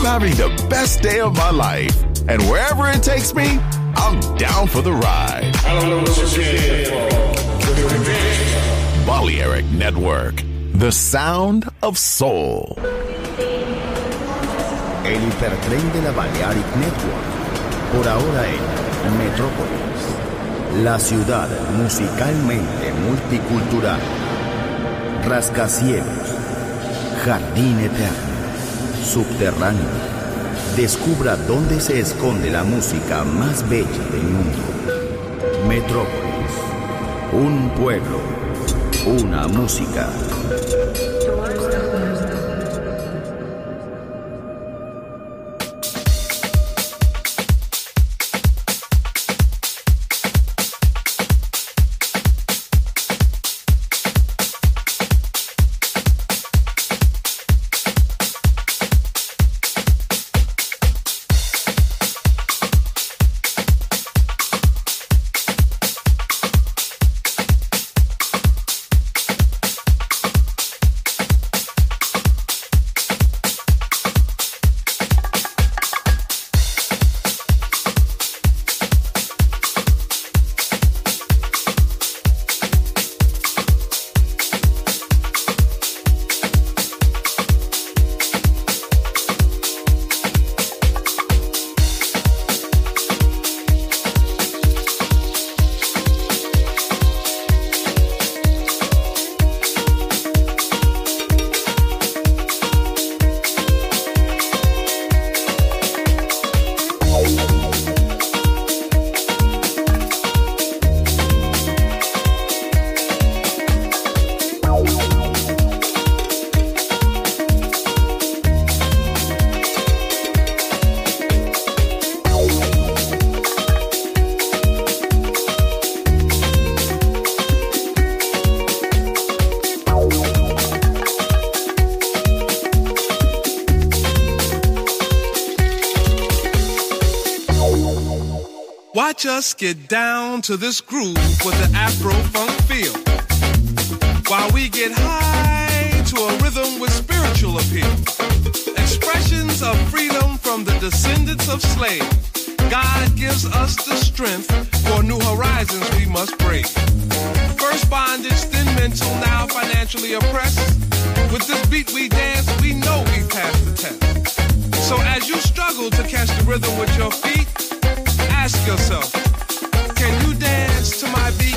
having the best day of my life. And wherever it takes me, I'm down for the ride. I don't know what you're here for. Balearic Network, the sound of soul. El hipertren de la Balearic Network, por ahora en Metrópolis, la ciudad musicalmente multicultural. Rascacielos, jardín eterno, subterráneo. Descubra dónde se esconde la música más bella del mundo. Metrópolis, un pueblo, una música. Watch us get down to this groove with the Afro-funk feel, while we get high to a rhythm with spiritual appeal. Expressions of freedom from the descendants of slaves. God gives us the strength for new horizons we must brave. First bondage, then mental, now financially oppressed. With this beat we dance, we know we passed the test. So as you struggle to catch the rhythm with your feet, ask yourself, can you dance to my beat?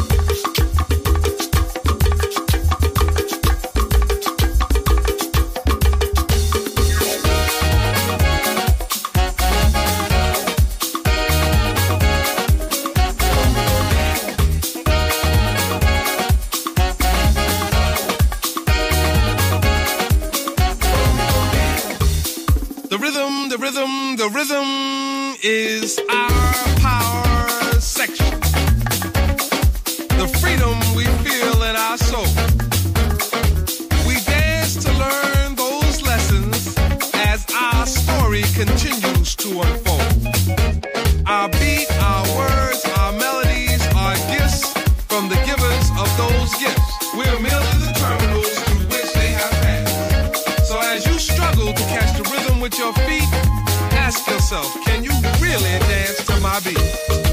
The rhythm is our power section. The freedom we feel in our soul. We dance to learn those lessons as our story continues to unfold. Our beat, our words, our melodies are gifts from the givers of those gifts. We're merely the terminals through which they have passed. So as you struggle to catch the rhythm with your feet, ask yourself, can you really dance to my beat?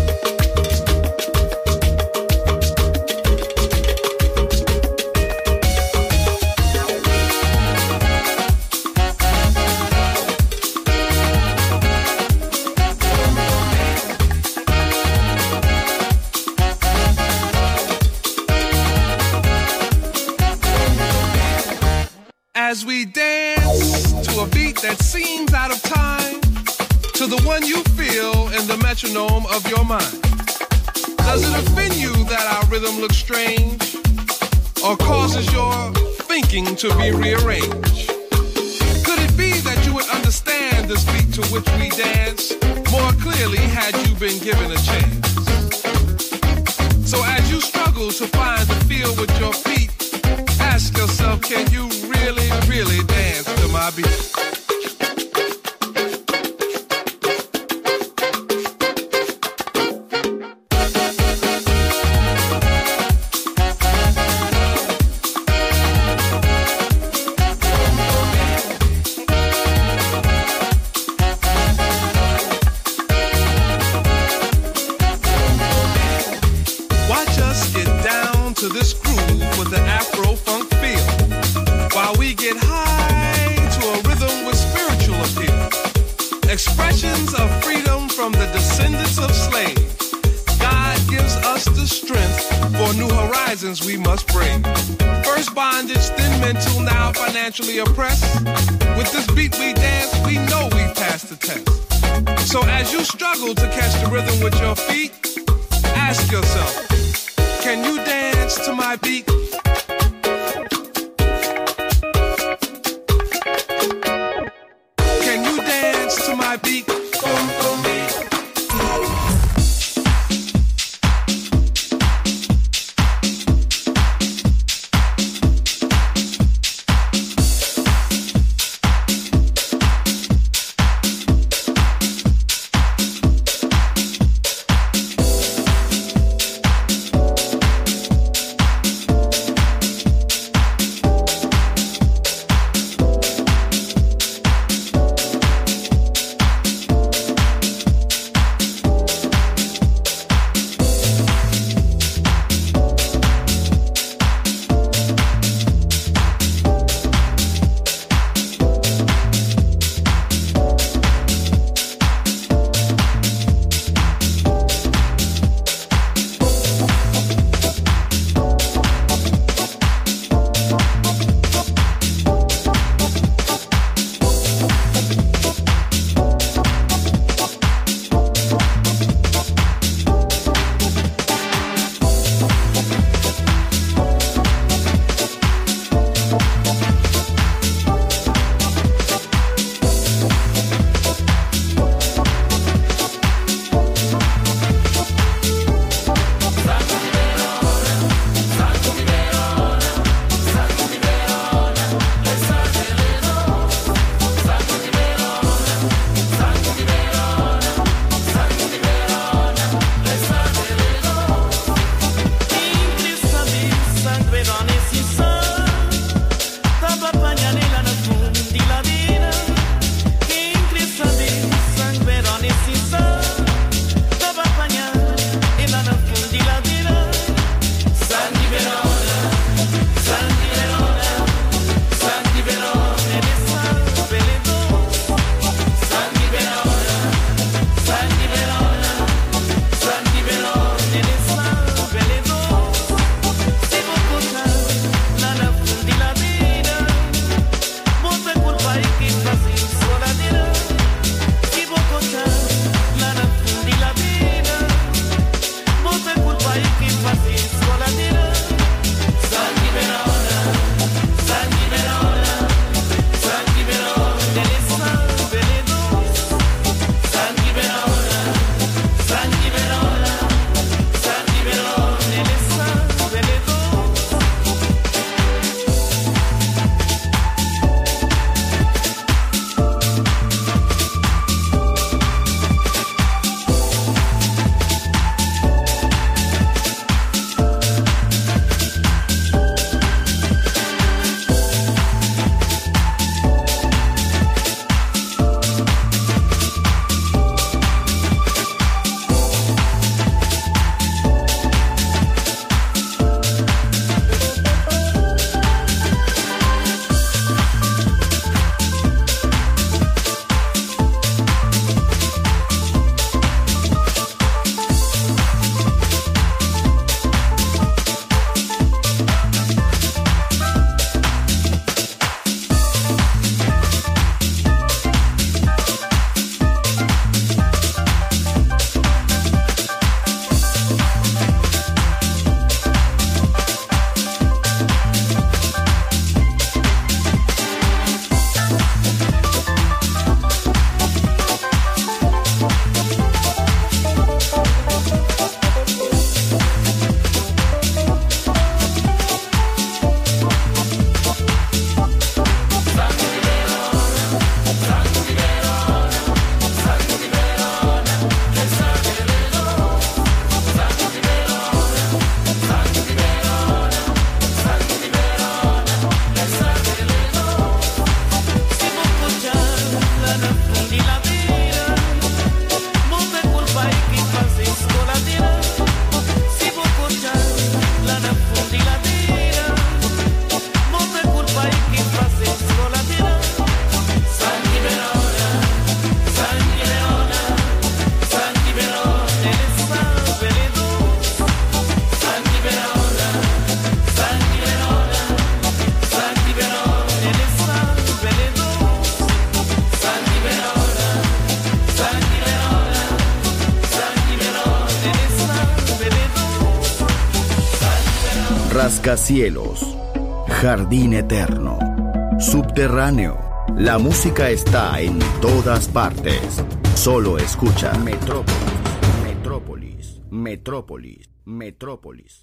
As we dance to a beat that seems out of time, to the one you feel in the metronome of your mind. Does it offend you that our rhythm looks strange, or causes your thinking to be rearranged? Could it be that you would understand this beat to which we dance more clearly had you been given a chance? So as you struggle to find the feel with your feet, ask yourself, can you really, really dance to my beat? prisons we must break. First bondage, then mental, now financially oppressed. With this beat we dance, we know we've passed the test. So as you struggle to catch the rhythm with your feet, ask yourself, can you dance to my beat? Can you dance to my beat? Boom, boom, beat. rascacielos, jardín eterno, subterráneo. La música está en todas partes. Solo escucha Metrópolis, Metrópolis, Metrópolis, Metrópolis.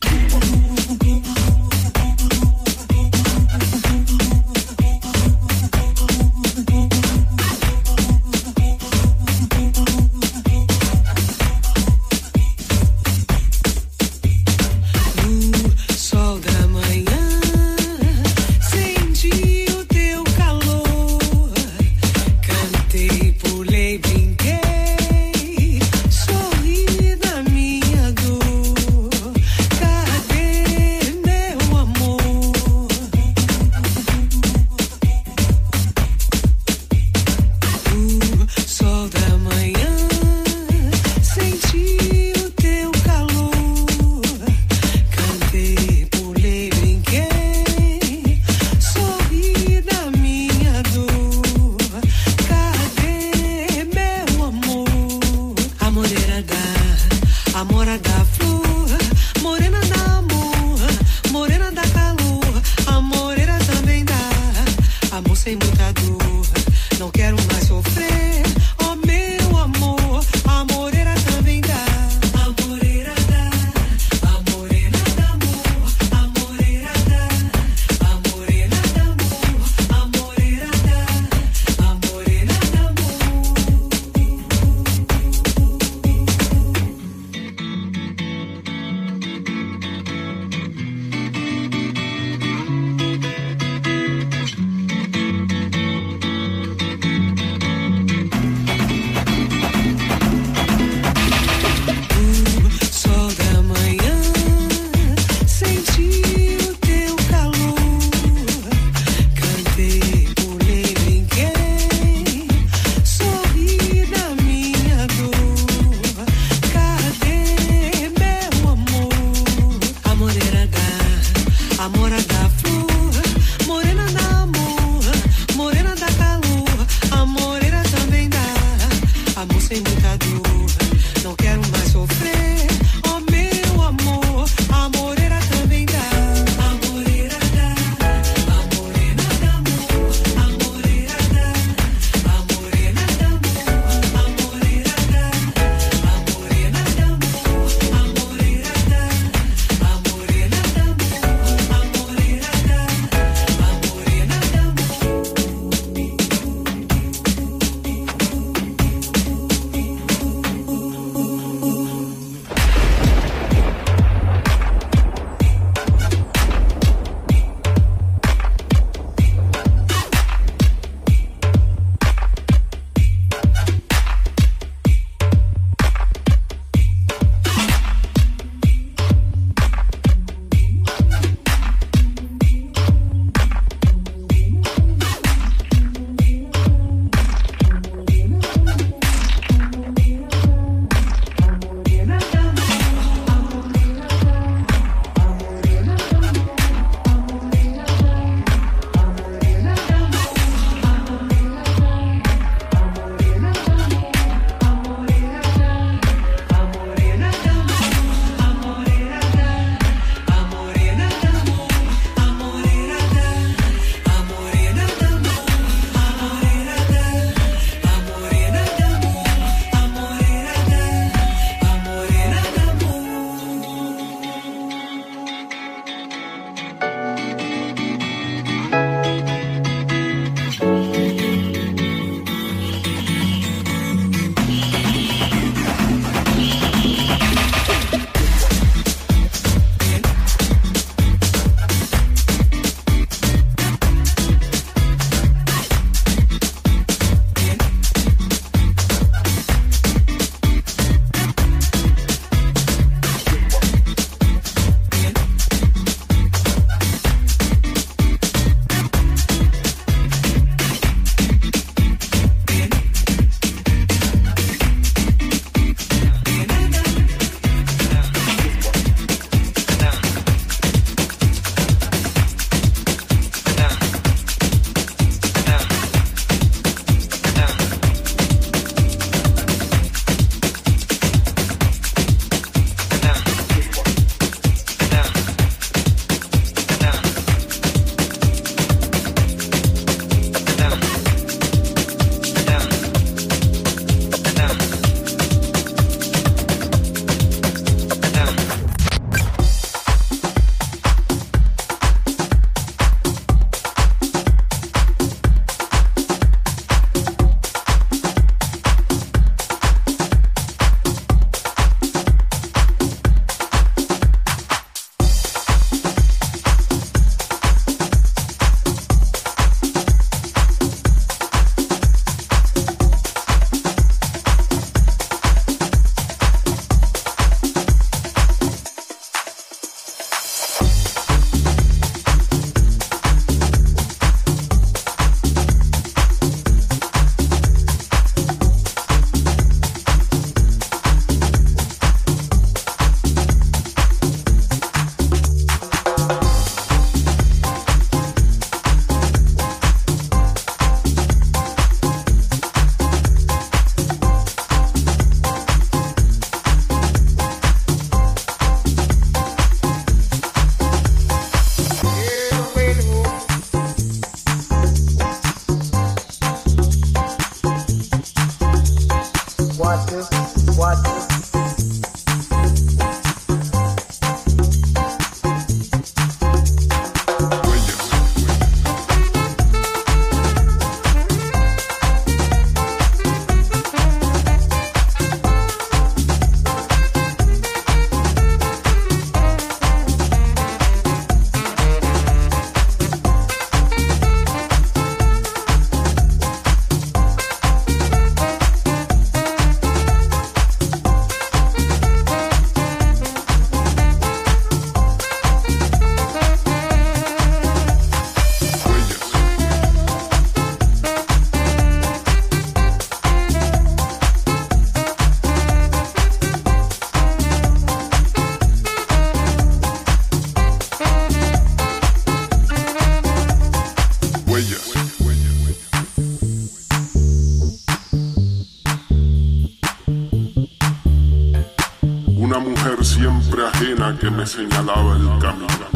siempre ajena que me señalaba el camino.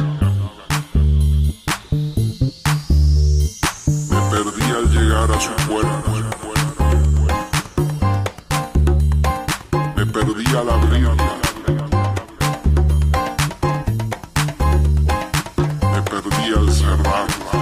Me perdí al llegar a su puerta. Me perdí al abrirla. Me perdí al cerrarla.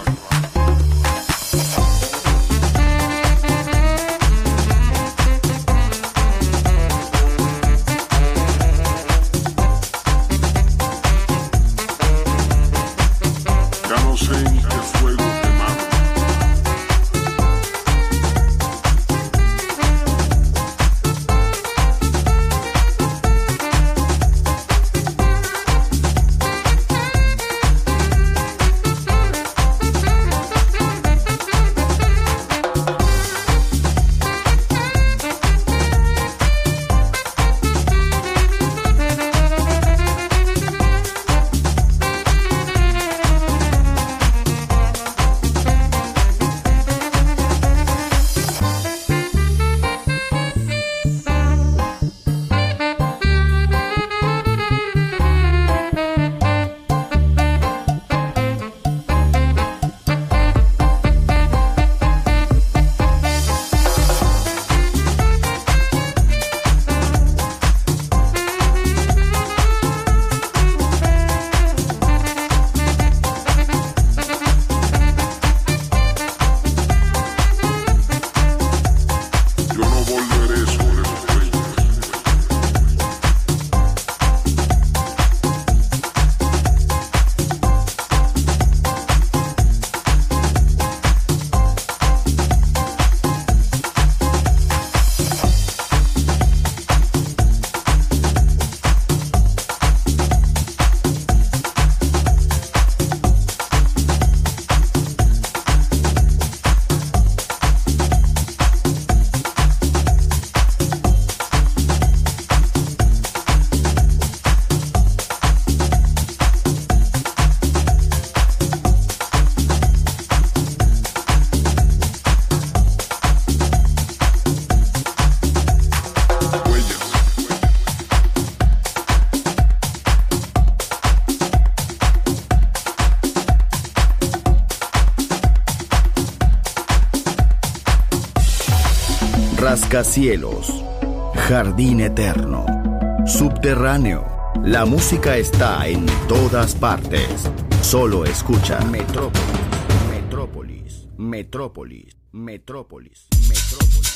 Rascacielos, jardín eterno, subterráneo. La música está en todas partes. Solo escucha Metrópolis, Metrópolis, Metrópolis, Metrópolis, Metrópolis.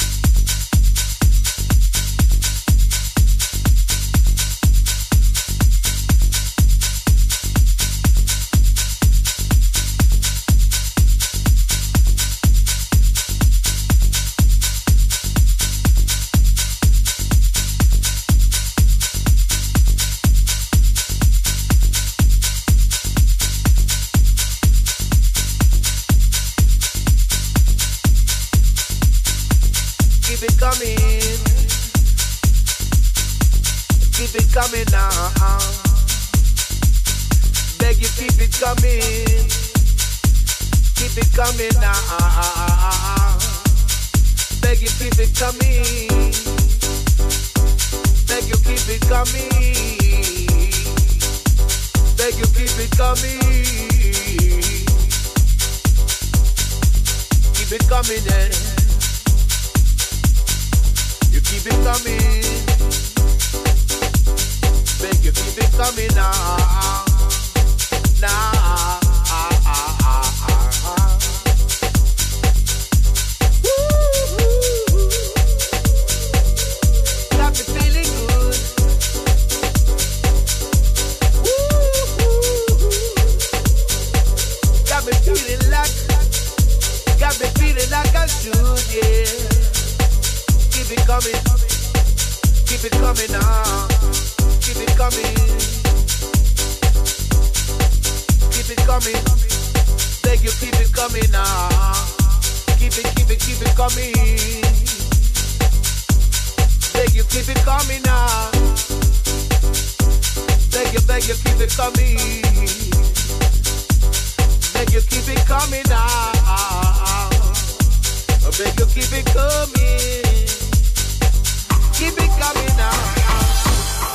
Keep it coming now. Beg you, keep it coming. Keep it coming now. Beg you, keep it coming. Beg you, keep it coming. Beg you, keep it coming. Keep it coming, eh? You keep it coming. Beg you, keep it coming now. Now. Got me feeling good. Got me feeling like I should, yeah. Keep it coming now. Keep it coming. Keep it coming. Beg you, keep it coming now. Keep it coming. Beg you, keep it coming now. Beg you, keep it coming. Beg you, keep it coming now. Beg you, keep it coming. Keep it coming now.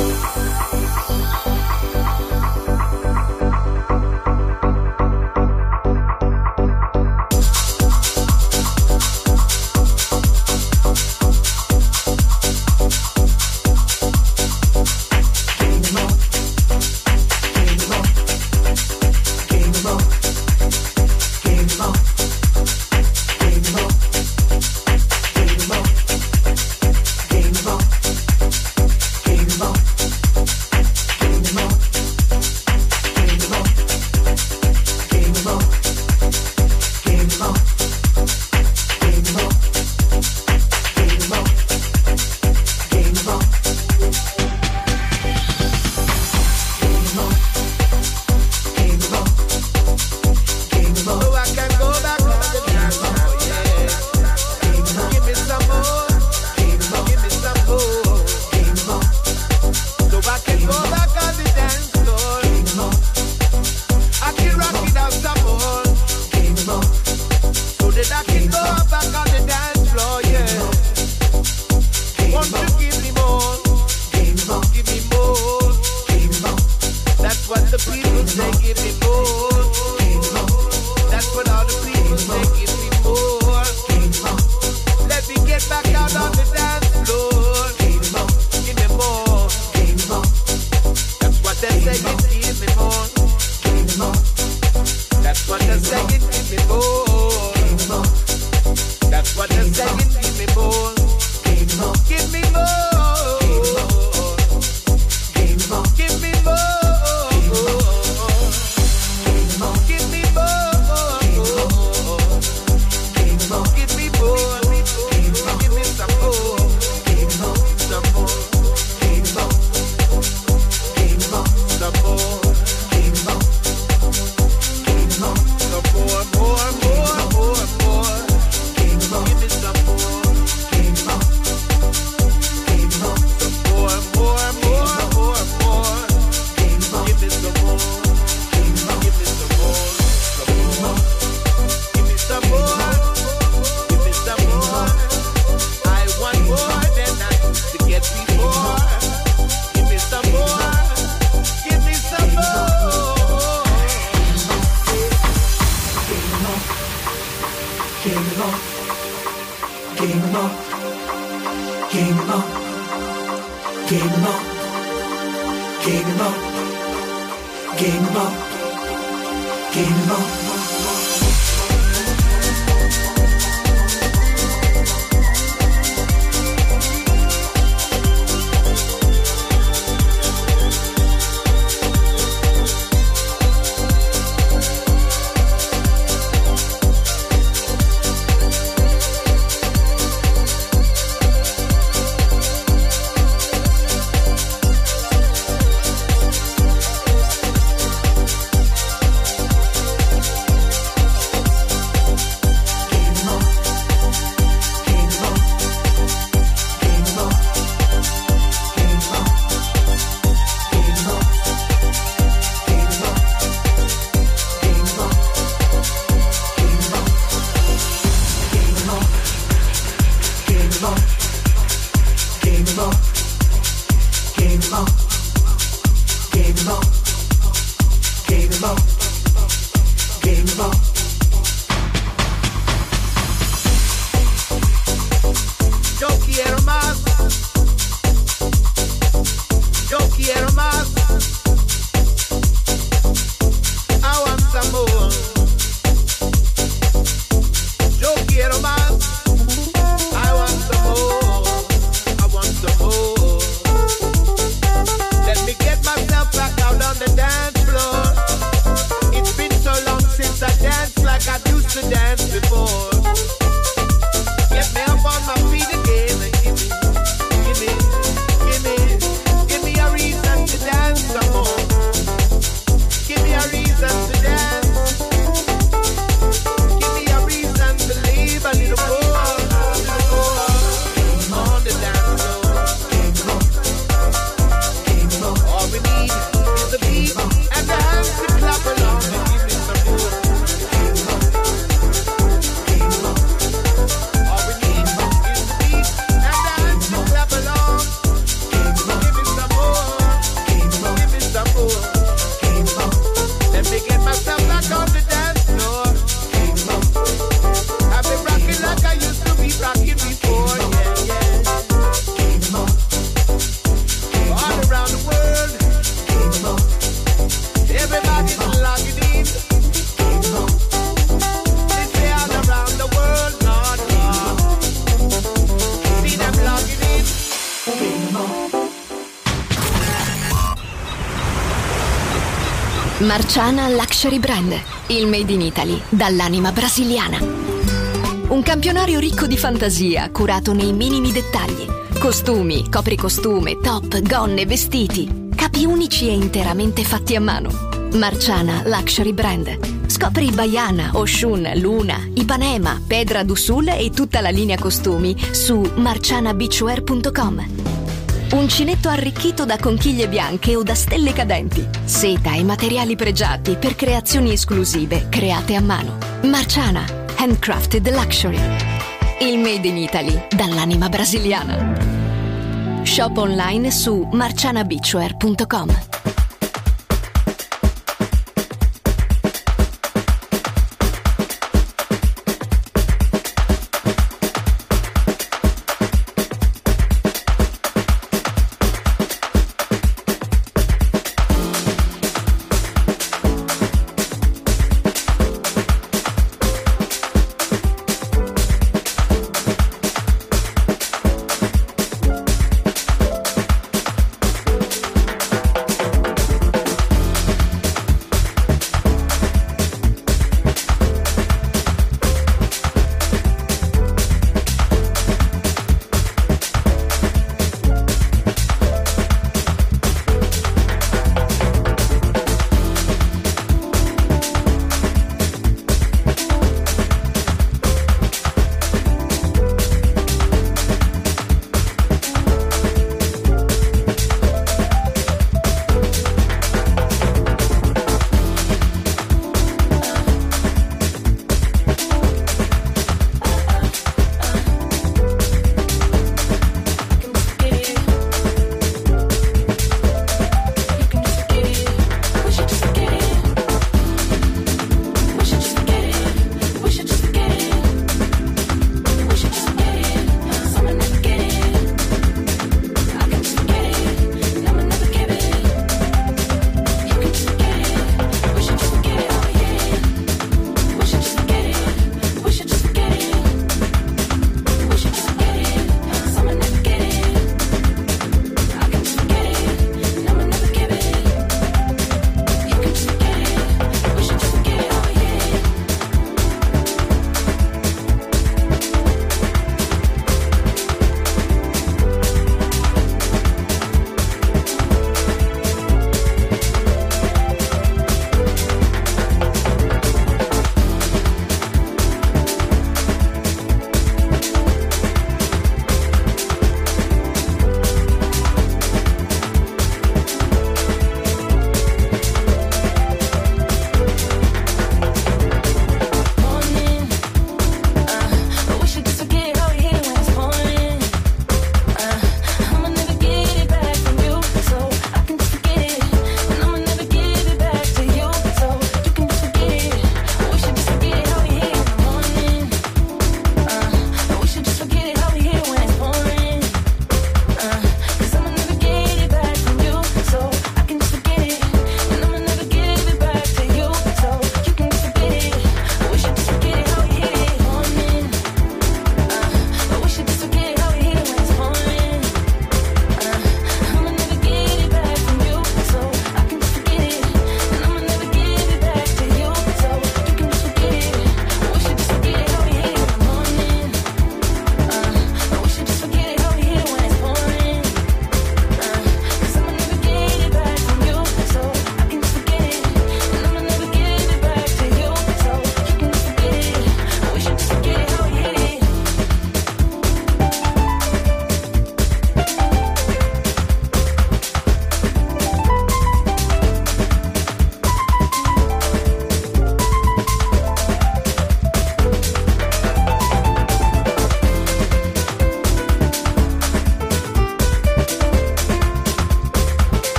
Marciana Luxury Brand, il made in Italy dall'anima brasiliana. Un campionario ricco di fantasia, curato nei minimi dettagli. Costumi, copricostume, top, gonne, vestiti. Capi unici e interamente fatti a mano. Marciana Luxury Brand. Scopri Baiana, Oshun, Luna, Ipanema, Pedra do Sul e tutta la linea costumi su marcianabeachwear.com. Uncinetto arricchito da conchiglie bianche o da stelle cadenti. Seta e materiali pregiati per creazioni esclusive create a mano. Marciana, handcrafted luxury. Il made in Italy dall'anima brasiliana. Shop online su marcianabeachwear.com.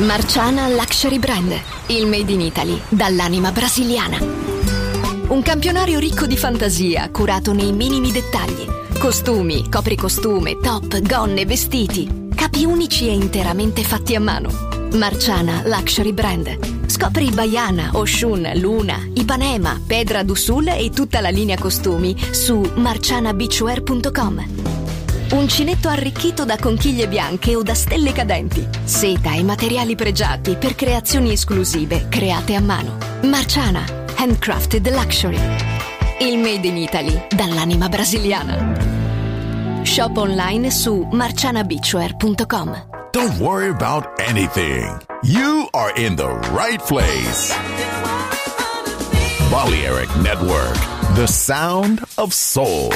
Marciana Luxury Brand, il made in Italy dall'anima brasiliana. Un campionario ricco di fantasia, curato nei minimi dettagli. Costumi, copricostume, top, gonne, vestiti. Capi unici e interamente fatti a mano. Marciana Luxury Brand. Scopri Baiana, Oshun, Luna, Ipanema, Pedra do Sul e tutta la linea costumi su marcianabeachwear.com. Uncinetto arricchito da conchiglie bianche o da stelle cadenti. Seta e materiali pregiati per creazioni esclusive create a mano. Marciana, handcrafted luxury. Il made in Italy dall'anima brasiliana. Shop online su marcianabeachwear.com. Don't worry about anything. You are in the right place. Balearic Network, the sound of soul.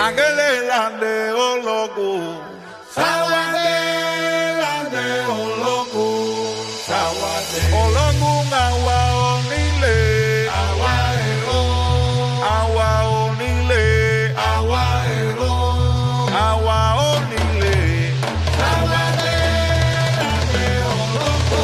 Agele lande ologo. Sawade lande ologo. Sawade. Ologo ngawa onile. Awa ero. Awa onile. Awa ero. Awa onile. Sawade lande ologo.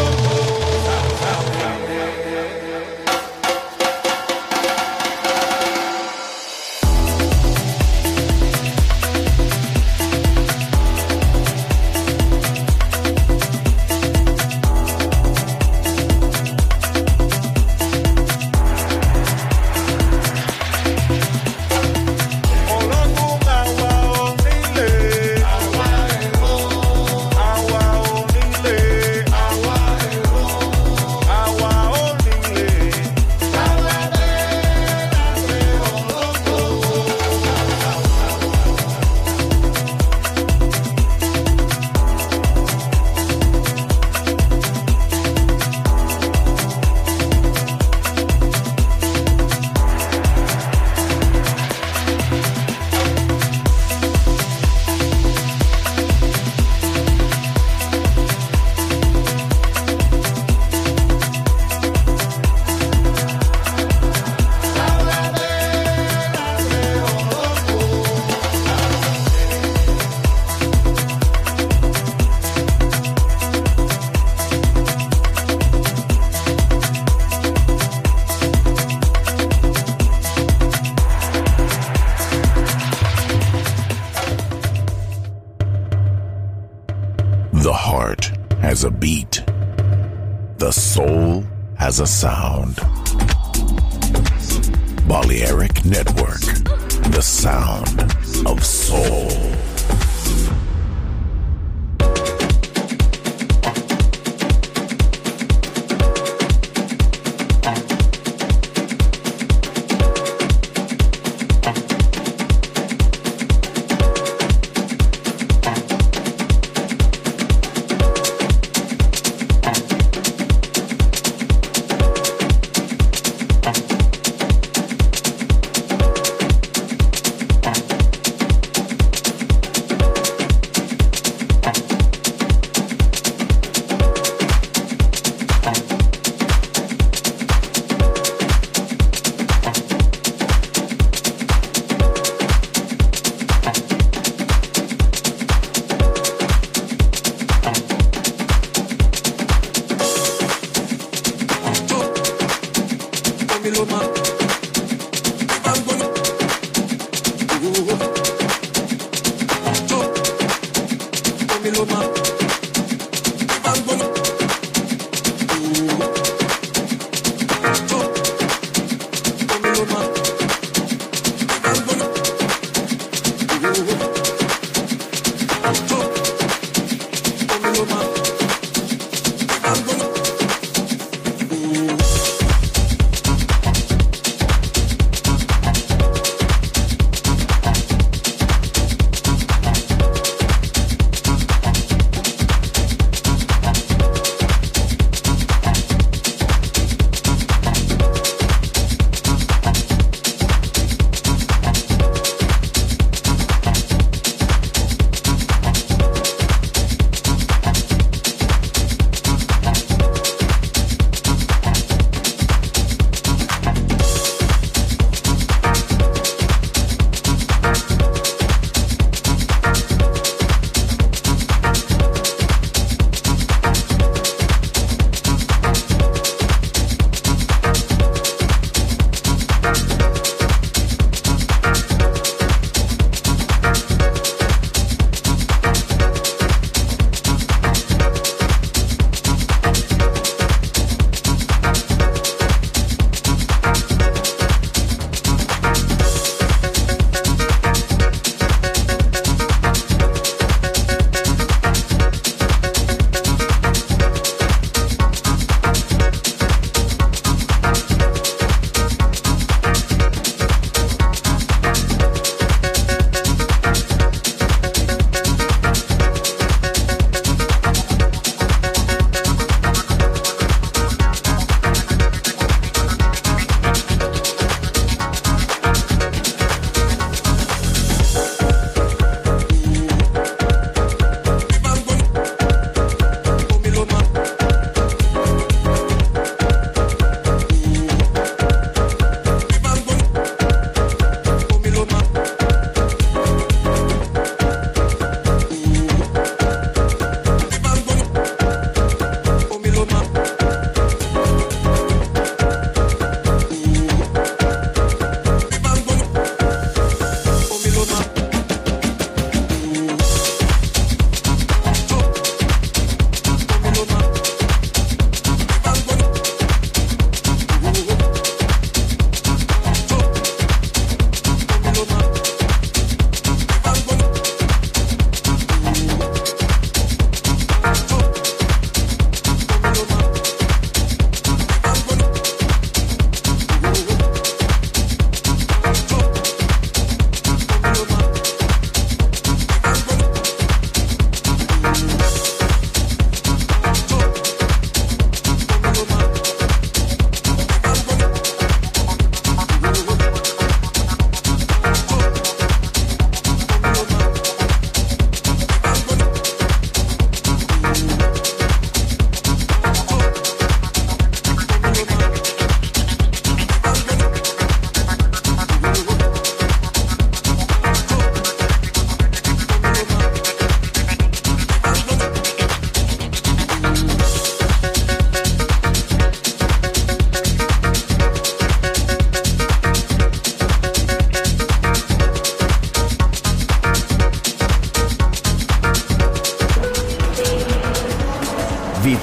The heart has a beat. The soul has a sound. Balearic Network, the sound of soul.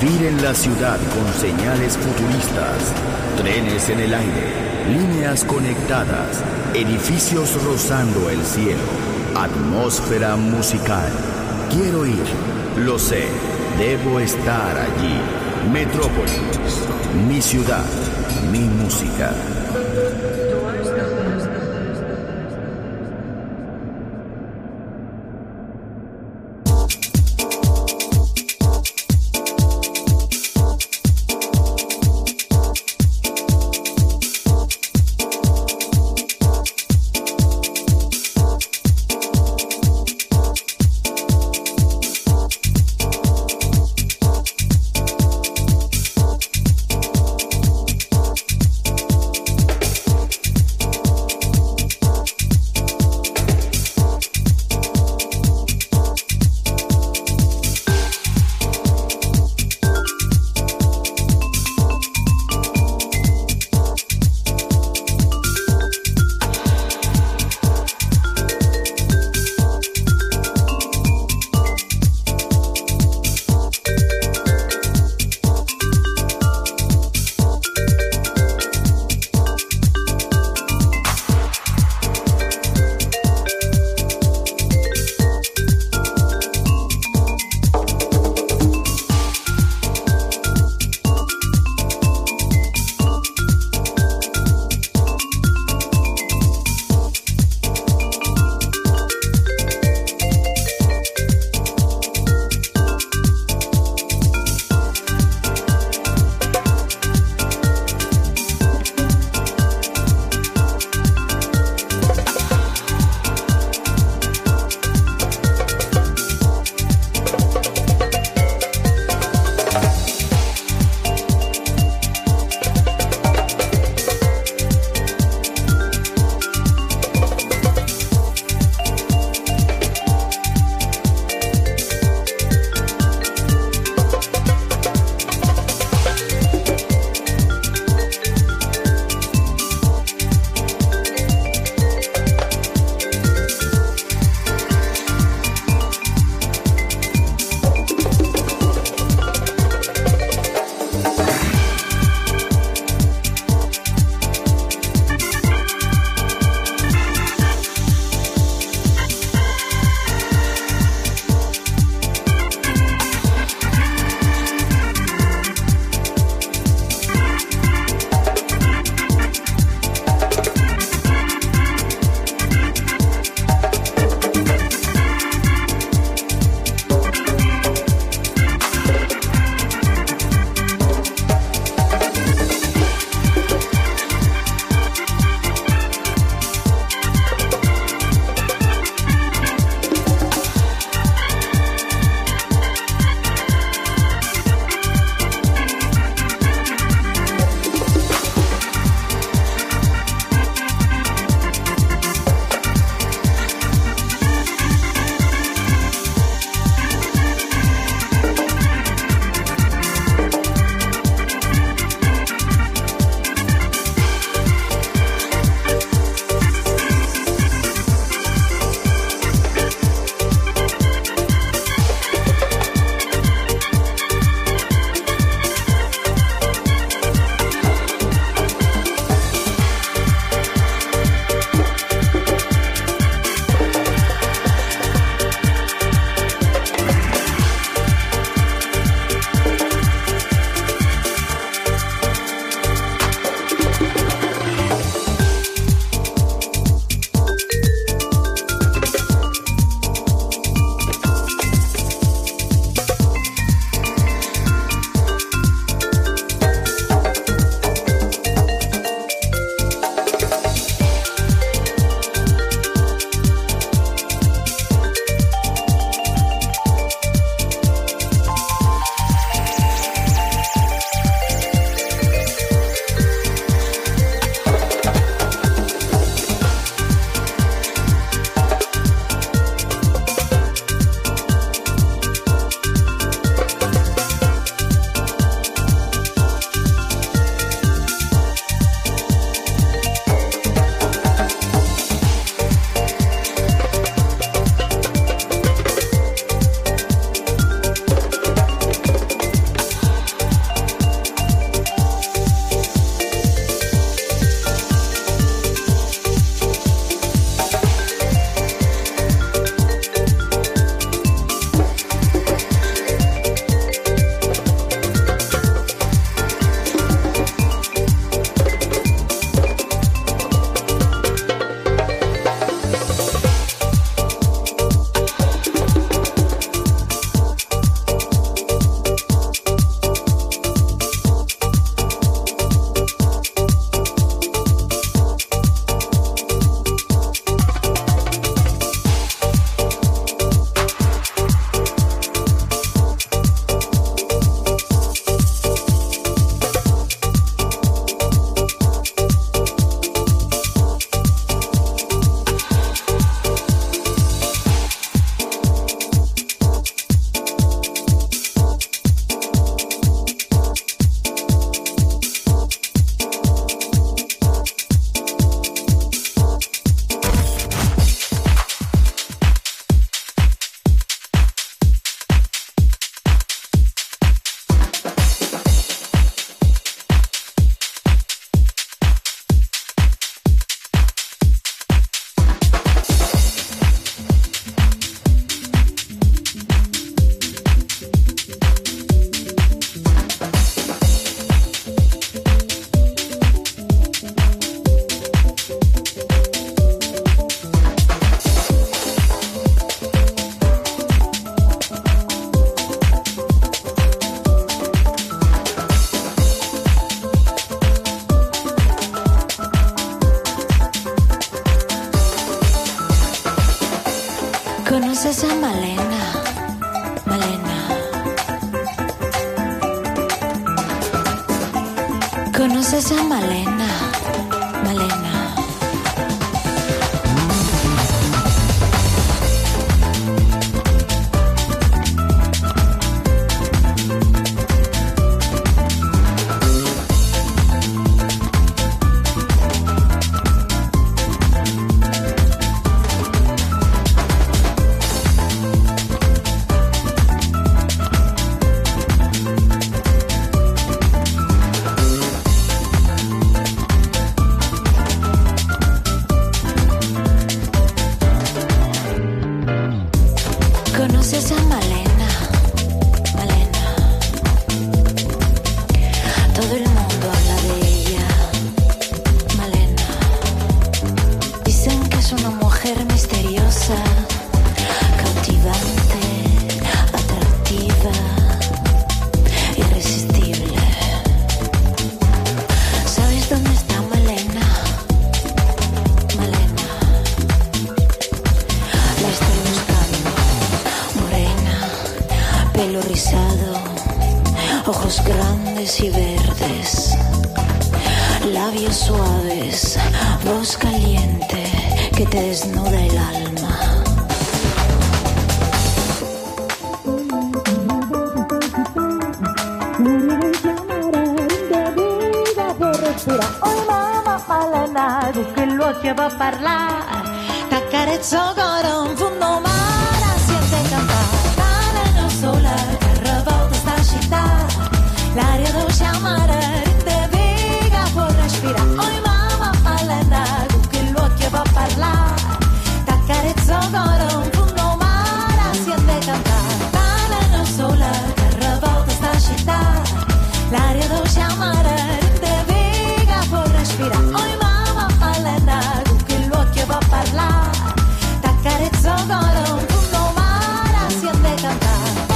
Vivir en la ciudad con señales futuristas, trenes en el aire, líneas conectadas, edificios rozando el cielo, atmósfera musical. Quiero ir, lo sé, debo estar allí. Metrópolis, mi ciudad, mi música. ¿Conoces a Malena? Malena. ¿Conoces a Malena? Malena. ¿Conoces a Malena? Malena. Todo el mundo habla de ella. Malena. Dicen que es una mujer misteriosa, cautivante, atractiva, irresistible. ¿Sabes dónde está Malena? Malena. La estoy buscando. Morena, pelo rizado, ojos grandes y verdes, labios suaves, voz caliente que te desnuda el alma. Oi mamma Malena, tu che lo che va a parlare, t'accarezzo ancora un fondo mare, siente cantare, non sola, che revolta sta città, l'aria dolce amare, rinde viga, può respirare. Oi mamma Malena, tu che lo che va a parlare, t'accarezzo ancora un fondo mare, siente cantare, non sola, che revolta sta città, l'aria dolce amare, rinde viga, può respirare. Oi mamma Malena, tu che lo che va a parlare, t'accarezzo ancora un fondo mare, siente cantare.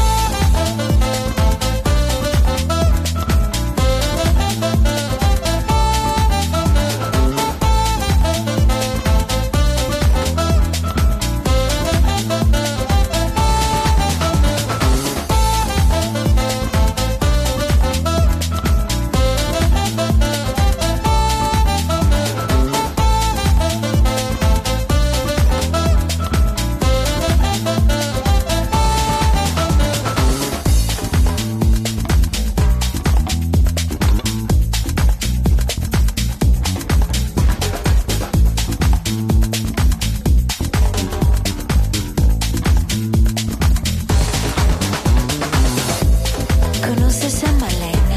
¿Conoces a Malena?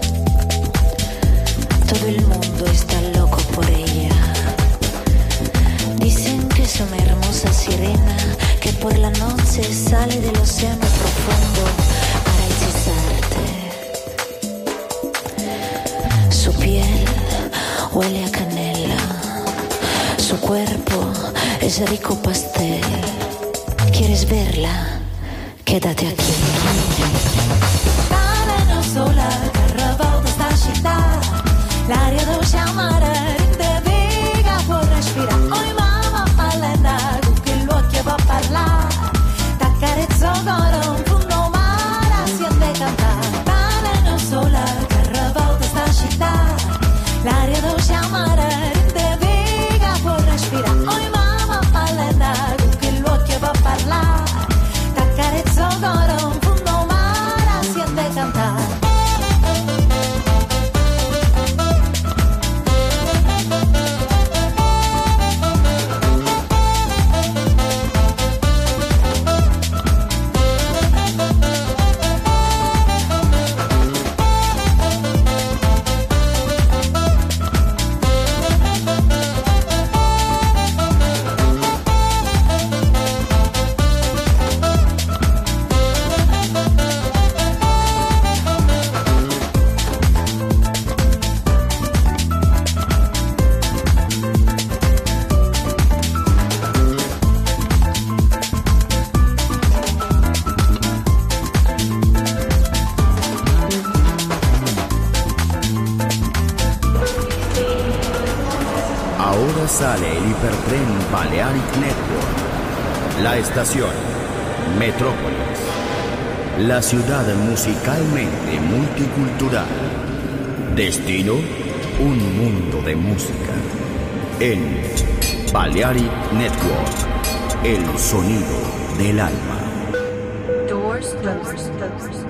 Todo el mundo está loco por ella. Dicen que es una hermosa sirena que por la noche sale del océano profundo para hechizarte. Su piel huele a canela, su cuerpo es rico pastel. ¿Quieres verla? Quédate aquí. Sola, che revolta sta città, l'aria dolce amare, rinde viga, può respirare. Oi mamma Malena, tu che lo che va a parlare, t'accarezzo ancora un fondo mare, siente cantare. Non sola, che revolta sta città, l'aria dolce amare, rinde viga, può respirare. Oi mamma Malena, tu che lo che va a parlare, t'accarezzo ancora un fondo mare, siente cantare. Ahora sale el hipertren Balearic Network, La estación Metrópolis, la ciudad musicalmente multicultural. Destino, un mundo de música. En Balearic Network, el sonido del alma. Doors closed.